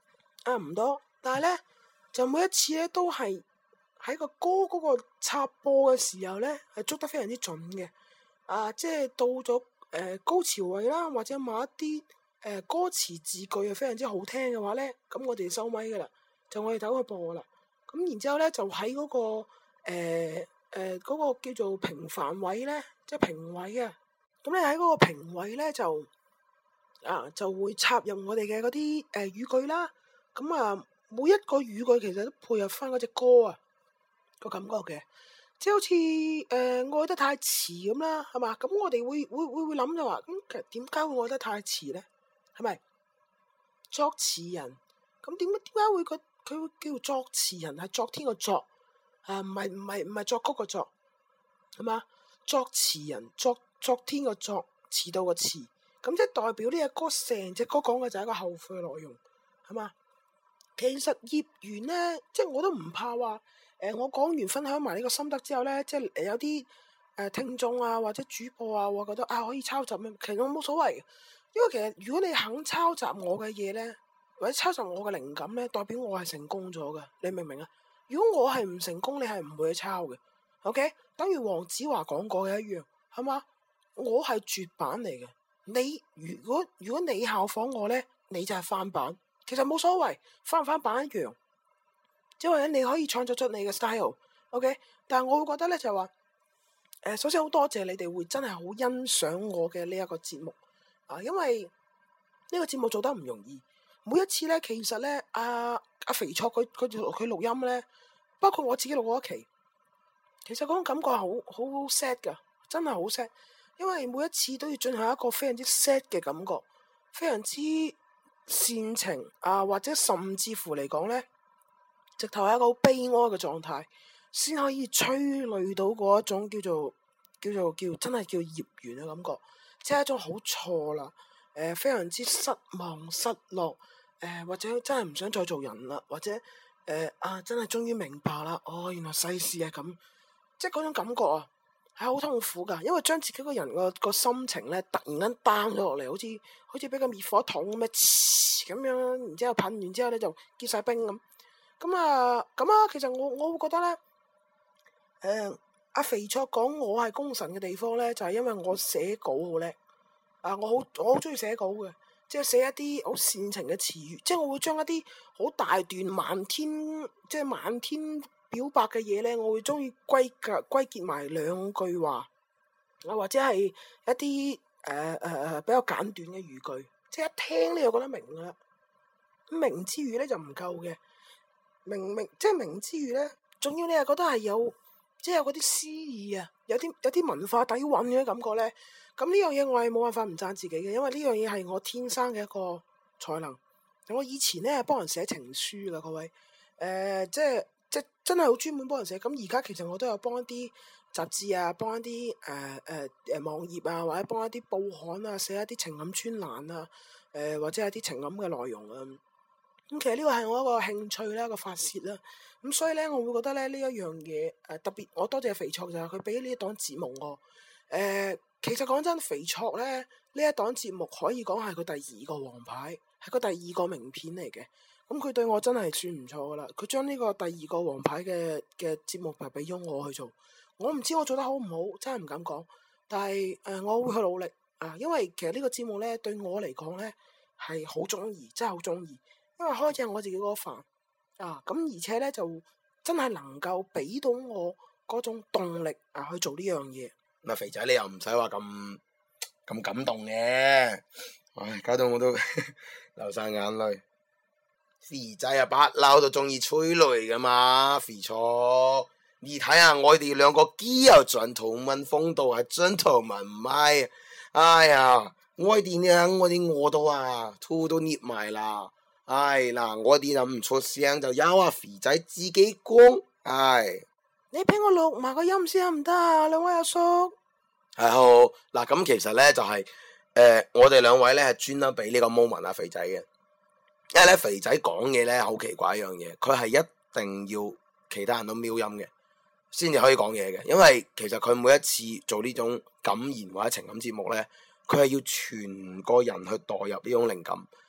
唔多，但係咧就每一次咧都係喺個歌嗰個插播嘅時候咧係捉得非常之準嘅。即係到咗高潮位啦，或者某一啲歌詞字句係非常之好聽嘅話咧，咁我哋收咪噶啦，就我哋走去播啦。咁然之後咧就喺嗰個嗰個叫做平凡位咧，即係評委啊。咁你喺嗰個評委咧就會插入我哋嘅嗰啲語句啦。咁每一個語句其實都配合翻嗰隻歌啊個感覺嘅。即係好似愛得太遲咁啦，係嘛？咁我哋會諗就話，咁其實點解會愛得太遲咧？係咪作詞人？咁點解會佢會叫作詞人？係昨天個作唔係作曲個作，係嘛？作詞人昨天個作，遲到個遲，咁即係代表呢隻歌成隻歌講嘅就係一個後悔嘅內容，係嘛？其實業緣咧，即係我都唔怕話。我講完分享埋呢個心得之後咧，即係有啲聽眾啊或者主播啊，我覺得可以抄襲咩？其實我冇所謂嘅，因為其實如果你肯抄襲我嘅嘢咧，或者抄襲我嘅靈感咧，代表我係成功咗嘅，你明唔明啊？如果我係唔成功，你係唔會去抄嘅。OK， 等於黃子華講過嘅一樣，係嘛？我係絕版嚟嘅，你如果你效仿我咧，你就係翻版，其實冇所謂，翻唔翻版一樣。因為你可以創作出你嘅 style，OK，但係我會覺得咧就係話，首先好多謝你哋會真係好欣賞我嘅呢一個節目因為呢個節目做得唔容易，每一次咧其實咧阿肥卓佢錄音咧，包括我自己錄過一期，其實嗰種感覺係好 sad 噶，真係好 sad，因為每一次都要進行一個非常之 sad 嘅感覺，非常之煽情或者甚至乎嚟講咧。直頭係一個好悲哀嘅狀態，先可以催淚到嗰一種叫真係叫業緣嘅感覺，即係一種好錯啦，非常之失望失落，或者真係唔想再做人啦，或者真係終於明白啦，原來世事係咁，即係嗰種感覺係好痛苦噶，因為將自己個人個心情咧突然間 down 咗落嚟，好似俾個滅火筒咁樣，然之後噴完之後咧就結晒冰咁。其實我會覺得咧，阿肥卓講我係功臣嘅地方咧，就係因為我寫稿好叻，我好中意寫稿嘅，即係寫一啲好煽情嘅詞語，即係我會將一啲好大段漫天表白嘅嘢咧，我會中意歸結埋兩句話，或者係一啲比較簡短嘅語句，即係一聽你就覺得明噶啦，明之餘咧就唔夠嘅。明之餘咧，仲要你係覺得係有嗰啲詩意有啲文化底蘊嘅感覺咧。咁呢樣嘢我係冇辦法唔讚自己嘅，因為呢樣嘢係我天生嘅一個才能。我以前咧係幫人寫情書噶，各位，即係真係好專門幫人寫。咁而家其實我都有幫一啲雜誌幫一啲網頁或者幫一啲報刊寫一啲情感專欄或者係啲情感嘅內容咁其實呢個係我一個興趣啦，一個發泄啦。咁所以咧，我會覺得咧呢一樣嘢特別，我多謝肥卓就係佢俾呢一檔節目我。其實講真，肥卓咧呢一檔節目可以講係佢第二個王牌，係佢第二個名片嚟嘅。咁佢對我真係算唔錯噶啦。佢將呢個第二個王牌嘅節目就俾咗我去做。我唔知我做得好唔好，真係唔敢講。但係我會去努力因為其實呢個節目咧對我嚟講咧係好中意，真係好中意。因為開正我自己嗰個飯咁而且咧就真係能夠俾到我嗰種動力去做呢樣嘢。 嗱，肥仔你又唔使話咁感動嘅，搞到我都流晒眼淚。肥仔不嬲都中意催淚噶嘛，肥錯。你睇下我哋兩個幾有gentleman風度，係 gentleman 唔係？哎呀，我哋呢，我哋餓到吐都捏埋啦。我哋就唔出聲，就由肥仔自己講。 你俾我錄埋個音先得唔得啊？兩位阿叔。 係好嗱，咁其實咧就係我哋兩位咧係專登俾呢個 moment 肥仔嘅，因為咧肥仔講嘢咧好奇怪一樣嘢，佢係一定要其他人都瞄音嘅，先至可以講嘢嘅。因為其實佢每一次做呢種感言或者情感節目咧，佢係要全個人去代入呢種靈感。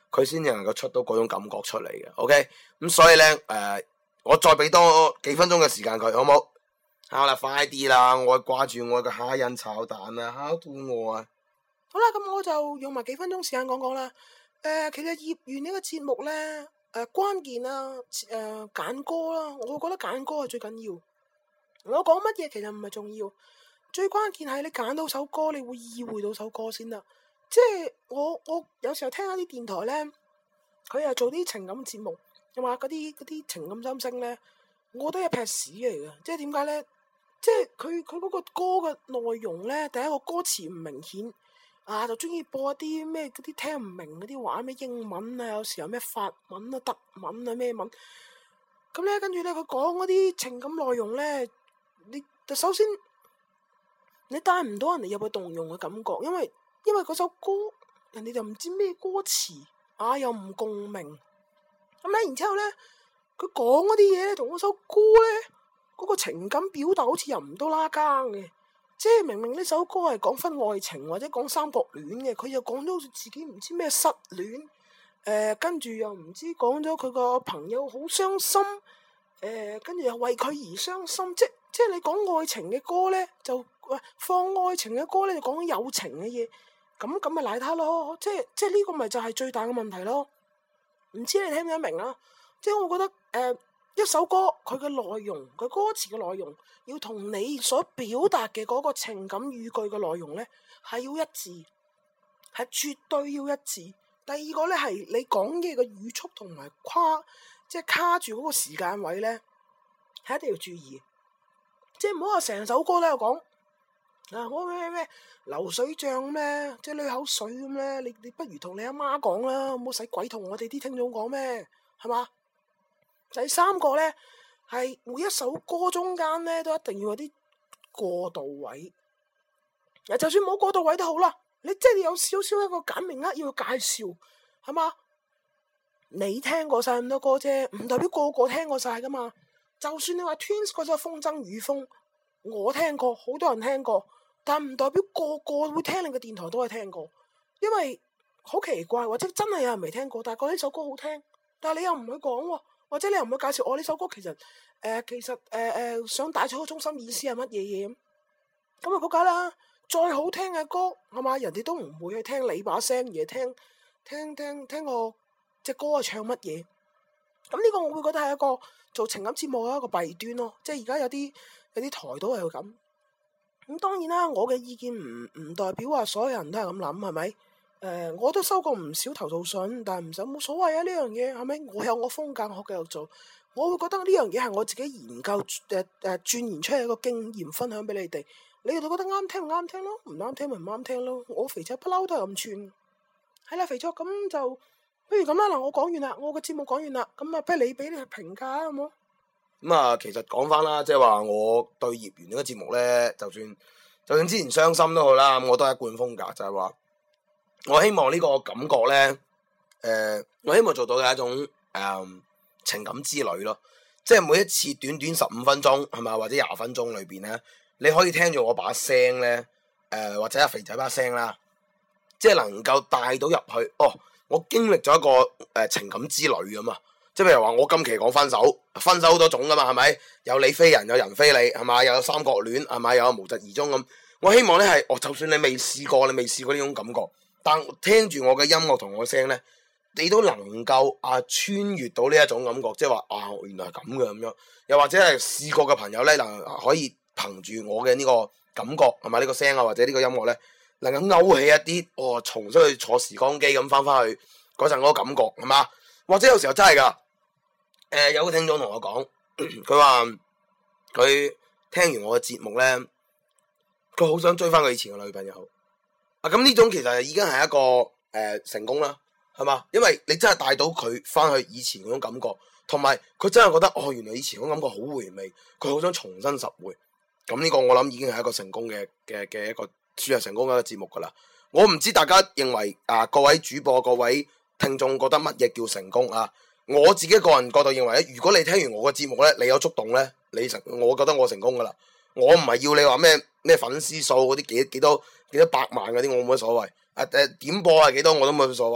佢先至能夠出到嗰種感覺出嚟嘅。OK，咁所以咧我再俾多幾分鐘嘅時間佢，好冇？好啦，快啲啦！我掛住我嘅蝦仁炒蛋啊，好肚餓啊！ 好啦，咁我就用埋幾分鐘時間講講啦。其實業餘呢個節目咧，關鍵啦，揀歌啦，我覺得揀歌係最緊要。我講乜嘢其實唔係重要，最關鍵係你揀到首歌，你會意會到首歌先得。即係我有時候聽一啲電台咧，佢又做啲情感節目，又話嗰啲情感心聲咧，我覺得一劈屎嚟嘅。即係點解咧？即係佢嗰個歌嘅內容咧，第一個歌詞唔明顯。就中意播一啲咩嗰啲聽唔明嗰啲話，咩英文啊，有時候咩法文啊、德文啊咩文，咁咧跟住咧佢講嗰啲情感內容咧，你首先你帶唔到人哋入去動容嘅感覺，因為嗰首歌人哋就唔知咩歌詞，又唔共鳴，咁咧然之後咧佢講嗰啲嘢咧同嗰首歌咧嗰個情感表達好似又唔到拉更嘅。即係明明呢首歌係講分愛情或者講三角戀嘅，佢又講咗好似自己唔知咩失戀，跟住又唔知講咗佢個朋友好傷心，跟住又為佢而傷心，即係你講愛情嘅歌咧，就放愛情嘅歌咧就講友情嘅嘢，咁咪賴他咯，即係呢個咪就係最大嘅問題咯。唔知你聽唔聽得明啊？即係我覺得一首歌佢嘅內容，佢歌詞嘅內容，要同你所表達嘅嗰個情感語句嘅內容咧，係要一致，係絕對要一致。第二個咧係你講嘢嘅語速同埋即係卡住嗰個時間位咧，係一定要注意。即係唔好話成首歌咧又講我咩流水賬咩，即係流口水咁咧。你不如同你阿媽講啦，唔好使鬼同我哋啲聽眾講咩，係嘛？第三個咧係每一首歌中間咧都一定要有啲過渡位，就算冇過渡位都好啦，你即係有少少一個簡明扼要嘅介紹，係嘛？你聽過晒咁多歌啫，唔代表個個聽過晒噶嘛。就算你話 Twins 嗰首風箏雨風，我聽過，好多人聽過，但唔代表個個會聽你嘅電台都係聽過，因為好奇怪，或者真係有人未聽過，但係覺得呢首歌好聽，但係你又唔去講喎。或者你又唔會介紹我呢首歌其實想帶出個中心意思係乜嘢嘢咁啊？仆街啦！再好聽嘅歌係嘛，人哋都唔會去聽你把聲，而係聽個隻歌係唱乜嘢。咁呢個我會覺得係一個做情感節目嘅一個弊端咯。即係而家有啲台都係咁。咁當然啦，我嘅意見唔代表話所有人都係咁諗，係咪？我都收過唔少投訴信，但係冇所謂啊！呢樣嘢係咪？我有我風格，我繼續做。我會覺得呢樣嘢係我自己研究鑽研出嚟一個經驗，分享俾你哋。你哋覺得啱聽唔啱聽咯，唔啱聽咪唔啱聽咯。我肥仔不嬲都係咁串。係啦，肥仔咁就不如咁啦。嗱，我講完啦，我嘅節目講完啦。咁不如你俾你評價好冇？ 咁其實講翻啦，即係話我對業緣呢個節目咧，就算之前傷心都好啦，我都係一貫風格，就係話。我希望呢個感覺咧，我希望做到嘅一種情感之旅咯，即係每一次短短15分鐘係咪，或者20分鐘裏邊咧，你可以聽住我把聲咧，或者阿肥仔把聲啦，即係能夠帶到入去。我經歷咗一個情感之旅咁啊！即係譬如話，我今期講分手好多種噶嘛，係咪？有你非人，有人非你，係咪？又有三角戀，係咪？又有無疾而終咁。我希望咧係，就算你未試過呢種感覺。但聽住我嘅音樂同我聲咧，你都能夠穿越到呢一種感覺，即係話原來係咁嘅咁樣。又或者係試過嘅朋友咧，可以憑住我嘅呢個感覺係咪呢個聲或者呢個音樂咧，能夠勾起一啲重新去坐時光機咁翻去嗰陣嗰個感覺係嘛？或者有時候真係㗎，有個聽眾同我講，佢話佢聽完我嘅節目咧，佢好想追翻佢以前嘅女朋友。咁呢種其實已經係一個成功啦，係嘛？因為你真係帶到佢翻去以前嗰種感覺，同埋佢真係覺得原來以前嗰種感覺好回味，佢好想重新拾回。咁呢個我諗已經係一個成功嘅一個算係成功嘅一個節目噶啦。我唔知大家認為各位主播、各位聽眾覺得乜嘢叫成功啊？我自己個人角度認為咧，如果你聽完我嘅節目咧，你有觸動咧，我覺得我成功噶啦。我唔係要你話咩粉絲數嗰啲幾多百萬嗰啲，我冇乜所謂。點播係幾多我都冇乜所謂。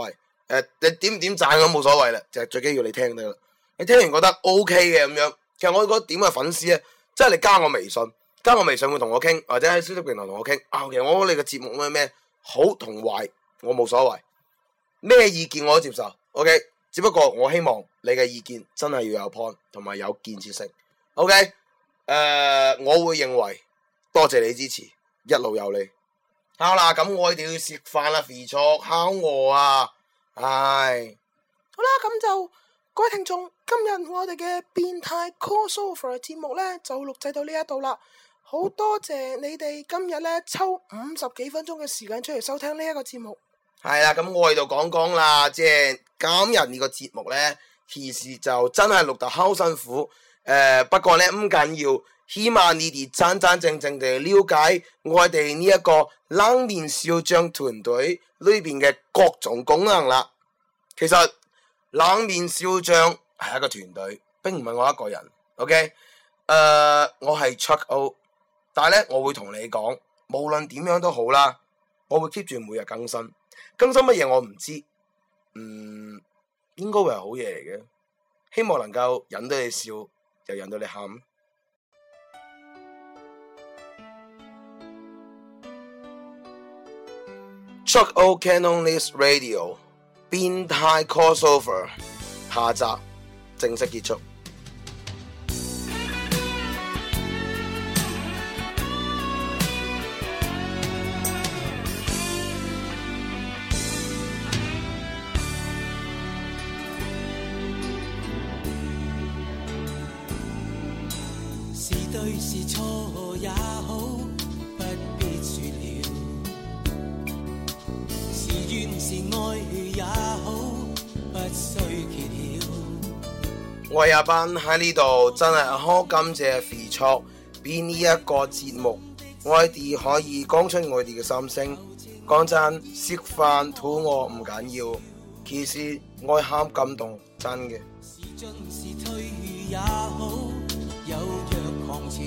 你點唔點讚都冇所謂啦，就係最緊要你聽得啦。你聽完覺得 OK 嘅咁樣，其實我覺得點嘅粉絲咧，即係你加我微信會同我傾，或者喺消息平台同我傾。其實我覺得你嘅節目咩好同壞，我冇所謂，咩意見我都接受。OK，只不過我希望你嘅意見真係要有 point 同埋有建設性。OK，我會認為多謝你支持，一路有你。好啦，咁我哋要食飯啦，肥卓烤餓啊！唉， 好啦，咁就各位聽眾，今日我哋嘅變態 crossover 節目呢，就錄製到呢一度啦。好多謝你哋今日呢抽50幾分鐘嘅時間出嚟收聽呢一個節目。 係啦，咁我喺度講啦，即係今日呢個節目呢，其實就真係錄得好辛苦。不過呢，唔緊要，希望你哋真正地了解我哋呢一個冷面笑匠團隊裏邊嘅各種功能啦。其實冷面笑匠係一個團隊，並唔係我一個人。OK，我係 Chuck O， 但係咧我會同你講，無論點樣都好啦，我會 keep 住每日更新乜嘢我唔知，應該會係好嘢嚟嘅，希望能夠引到你笑，又引到你喊。Chuck O Canonist Radio 變態 crossover 下集正式結束。 是對是錯也好，不必說了。是怨是愛也好，不需揭曉。 我係阿班喺呢度，真係好感謝肥卓俾呢一個節目，我哋可以講出我哋嘅心聲。講真，食飯肚餓唔緊要，其實我好感動，真嘅。 是進是退也好，有若狂潮。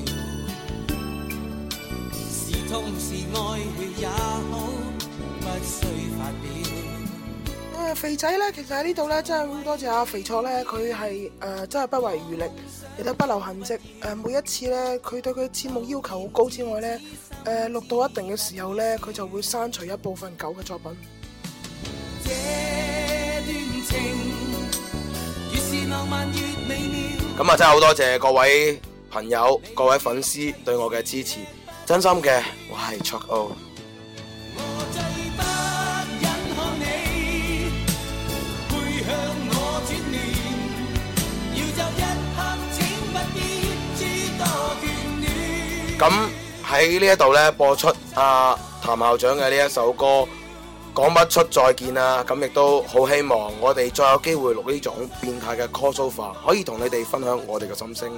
是痛是愛也好，不需發表。 肥仔呢，其實喺呢度呢，真係好多謝阿肥卓呢，佢係真係不遺餘力，亦都不留痕跡。每一次呢，佢對佢節目要求好高之外呢，錄到一定嘅時候呢，佢就會刪除一部分舊嘅作品。 這段情越是浪漫越美妙。 咁啊，真係好多謝各位朋友、各位粉絲對我嘅支持，真心嘅，我係 Chuck O。 我最不忍看你背向我轉臉，要走一刻請不必諸多眷戀。 咁喺呢一度呢，播出譚校長嘅呢一首歌講不出再見啦。咁亦都好希望我哋再有機會錄呢種變態嘅 crossover，可以同你哋分享我哋嘅心聲。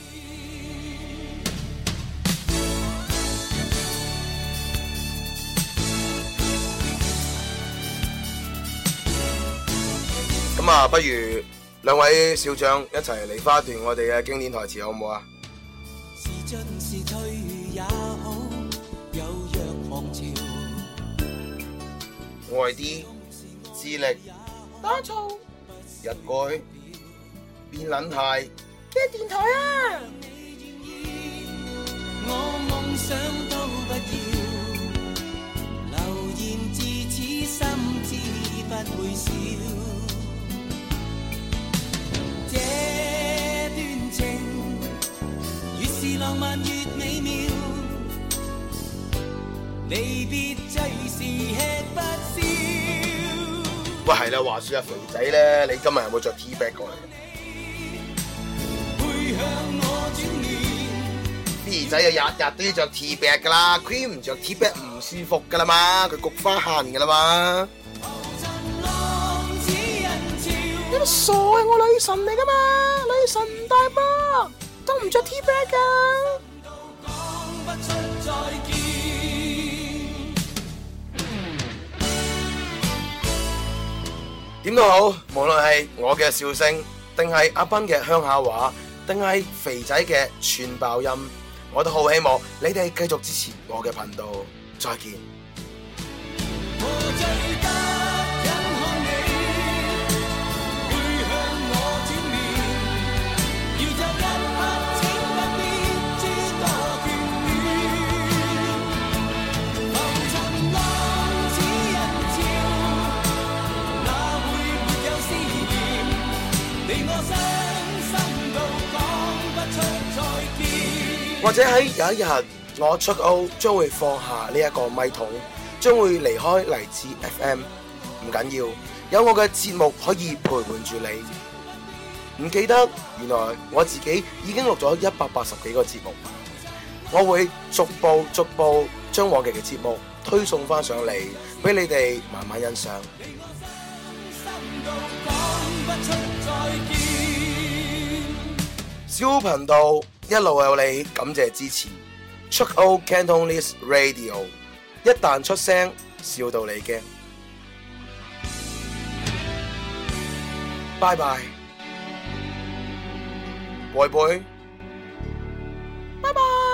咁啊，不如兩位少將一齊嚟花一段我哋嘅經典台詞好唔好啊？ 是進是退也好，有若狂潮。 愛啲智力打造日改變撚態嘅電台啊！ 我夢想都不要，流言自此心知不會少。這段情越是浪漫越美妙，離別最是吃不消。 喂，係啦，話說阿肥仔咧，你今日有冇着 T back 過嚟？ 背向我轉臉， 肥仔啊，日日都要着 T back 噶啦，佢唔着 T back 唔舒服噶啦嘛，佢菊花痕噶啦嘛。 塵浪似人潮。 你都傻嘅，我女神嚟噶嘛，女神大波都唔着 T back 噶。 講不出再見。 點都好，無論係我嘅笑聲，定係阿斌嘅鄉下話，定係肥仔嘅串爆音，我都好希望你哋繼續支持我嘅頻道。再見。 我最不忍看你到講不出再見。 或者喺有一日，我出奧將會放下呢一個咪筒，將會離開荔枝 FM。唔緊要，有我嘅節目可以陪伴住你。唔記得，原來我自己已經錄咗180幾個節目，我會逐步將我嘅節目推送翻上嚟，俾你哋慢慢欣賞。小頻道一路有你，感謝支持。Chuck O Cantonese Radio， 一旦出聲，笑到你驚。拜拜，拜拜。 拜拜。